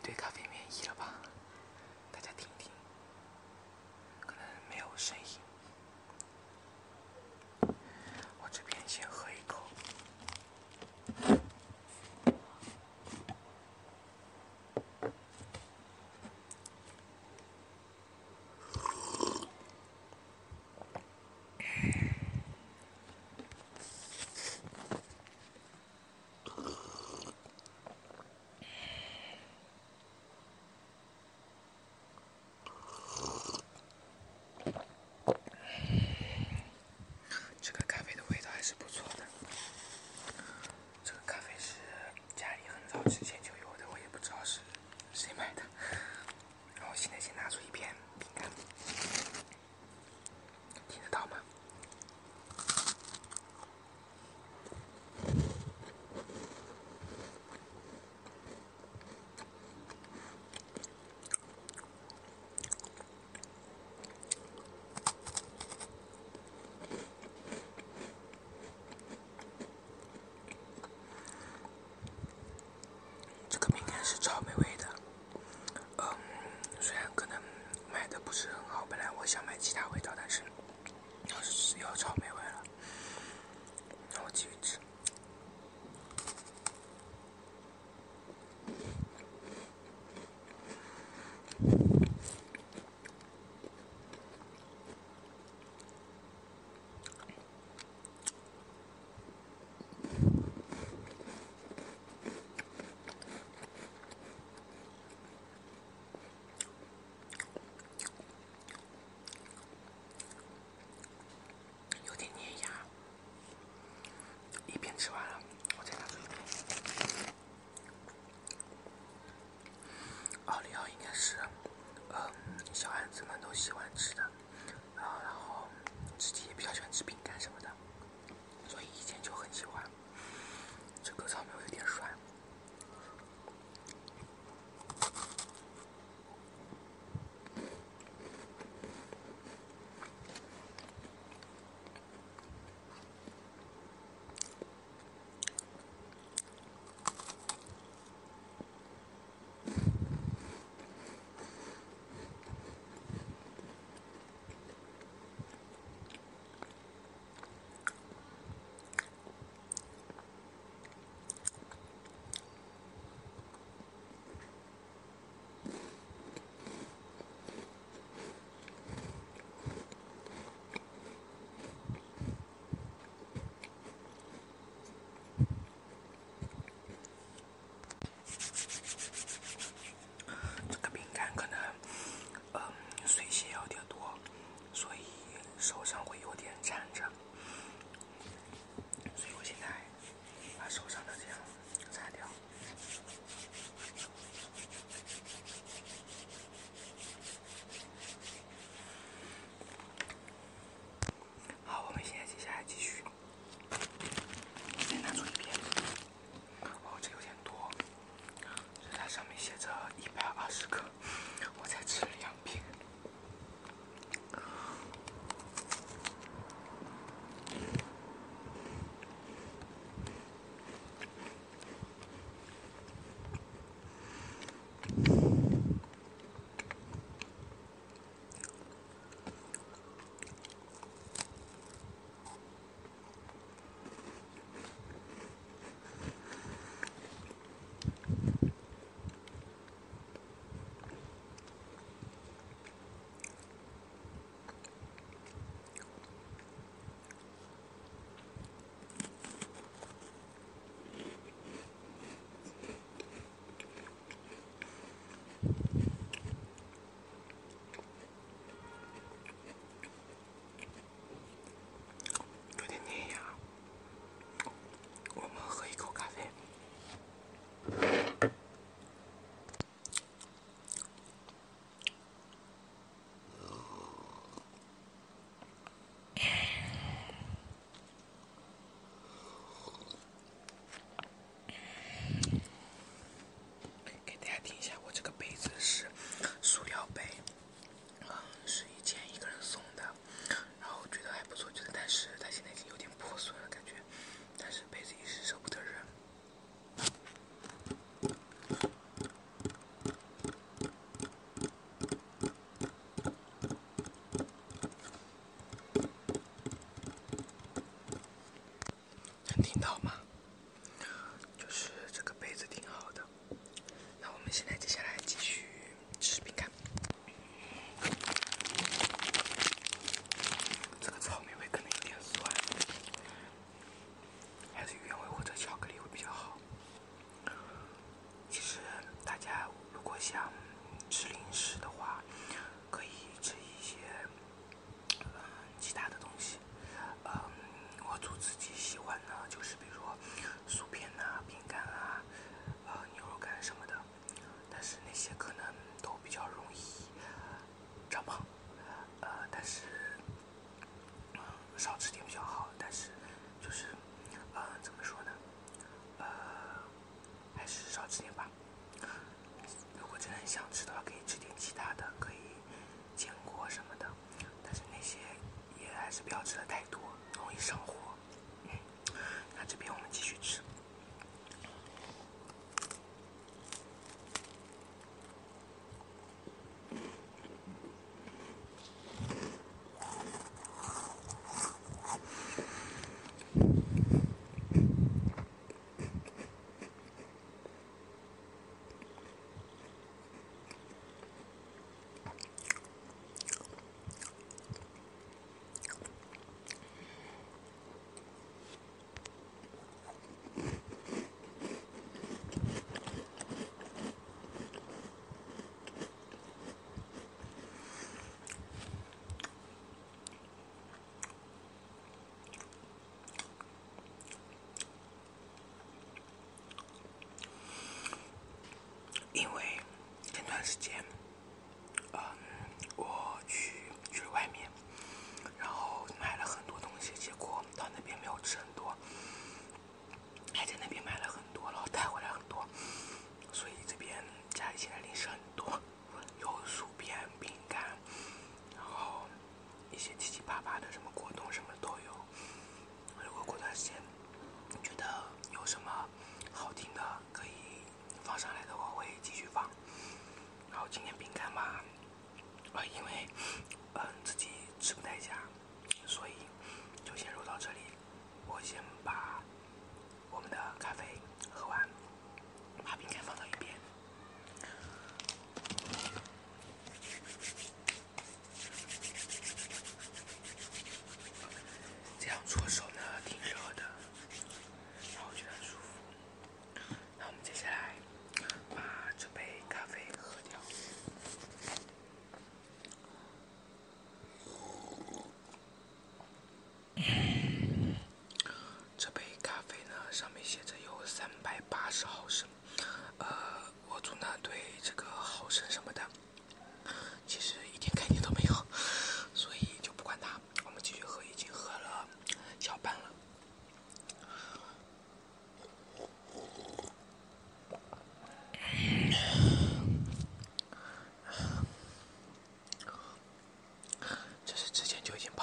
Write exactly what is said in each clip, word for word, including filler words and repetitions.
对咖啡免疫了吧？大家听听，可能没有声音。我这边先喝一口。这个咖啡的味道还是不错的。这个咖啡是家里很早之前就有的，我也不知道是谁买的。然后现在先拿出一片饼干，听得到吗？这个饼干是草莓味的，嗯，虽然可能买的不是很好，本来我想买其他味道，但是要是有草莓味了，那我继续吃。有点粘牙，一边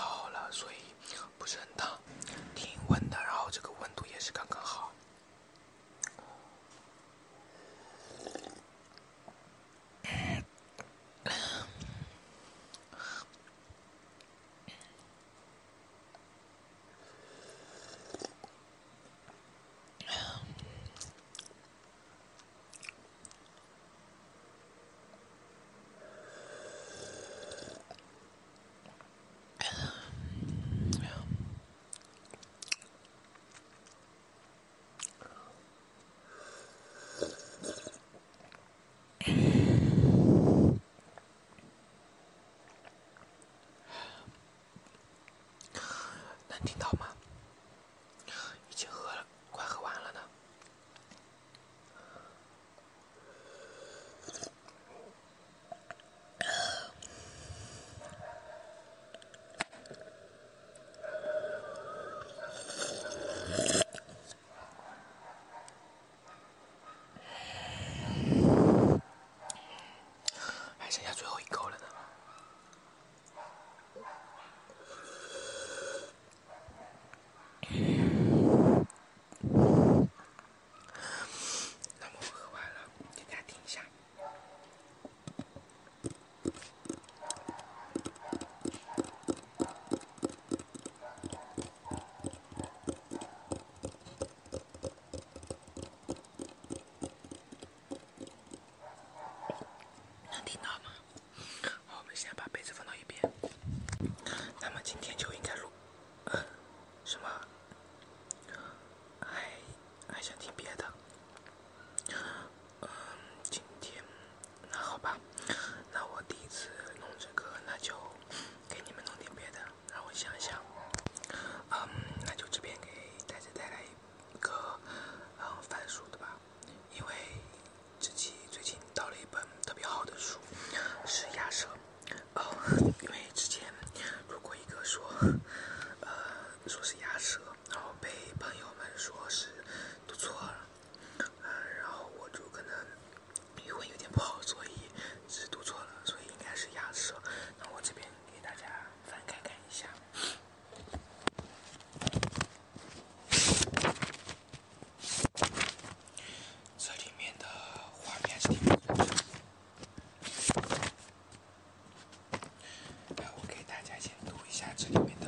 好了，所以不是很烫，挺温的，然后这个温度也是刚刚好。能听到吗？已经喝了，快喝完了呢。还剩下最后一口了呢。那么我喝完了，给大家听一下。能听到吗？好，我们先把杯子放到一边。那么今天就应该录，呃，什么？还还想听别的？嗯，今天那好吧，那我第一次弄这个，那就给你们弄点别的，让我想想。嗯，那就这边给大家带来一个嗯番薯的吧，因为自己最近到了一本特别好的书，是亚瑟。哦，因为之前如果一个说，呃，说是亚瑟，然后被朋友们说是读错了，呃，然后我就可能语文有点不好，所以是读错了，所以应该是亚瑟。那我这边给大家翻开看一下。这里面的画面是挺不错的。来，我给大家先读一下这里面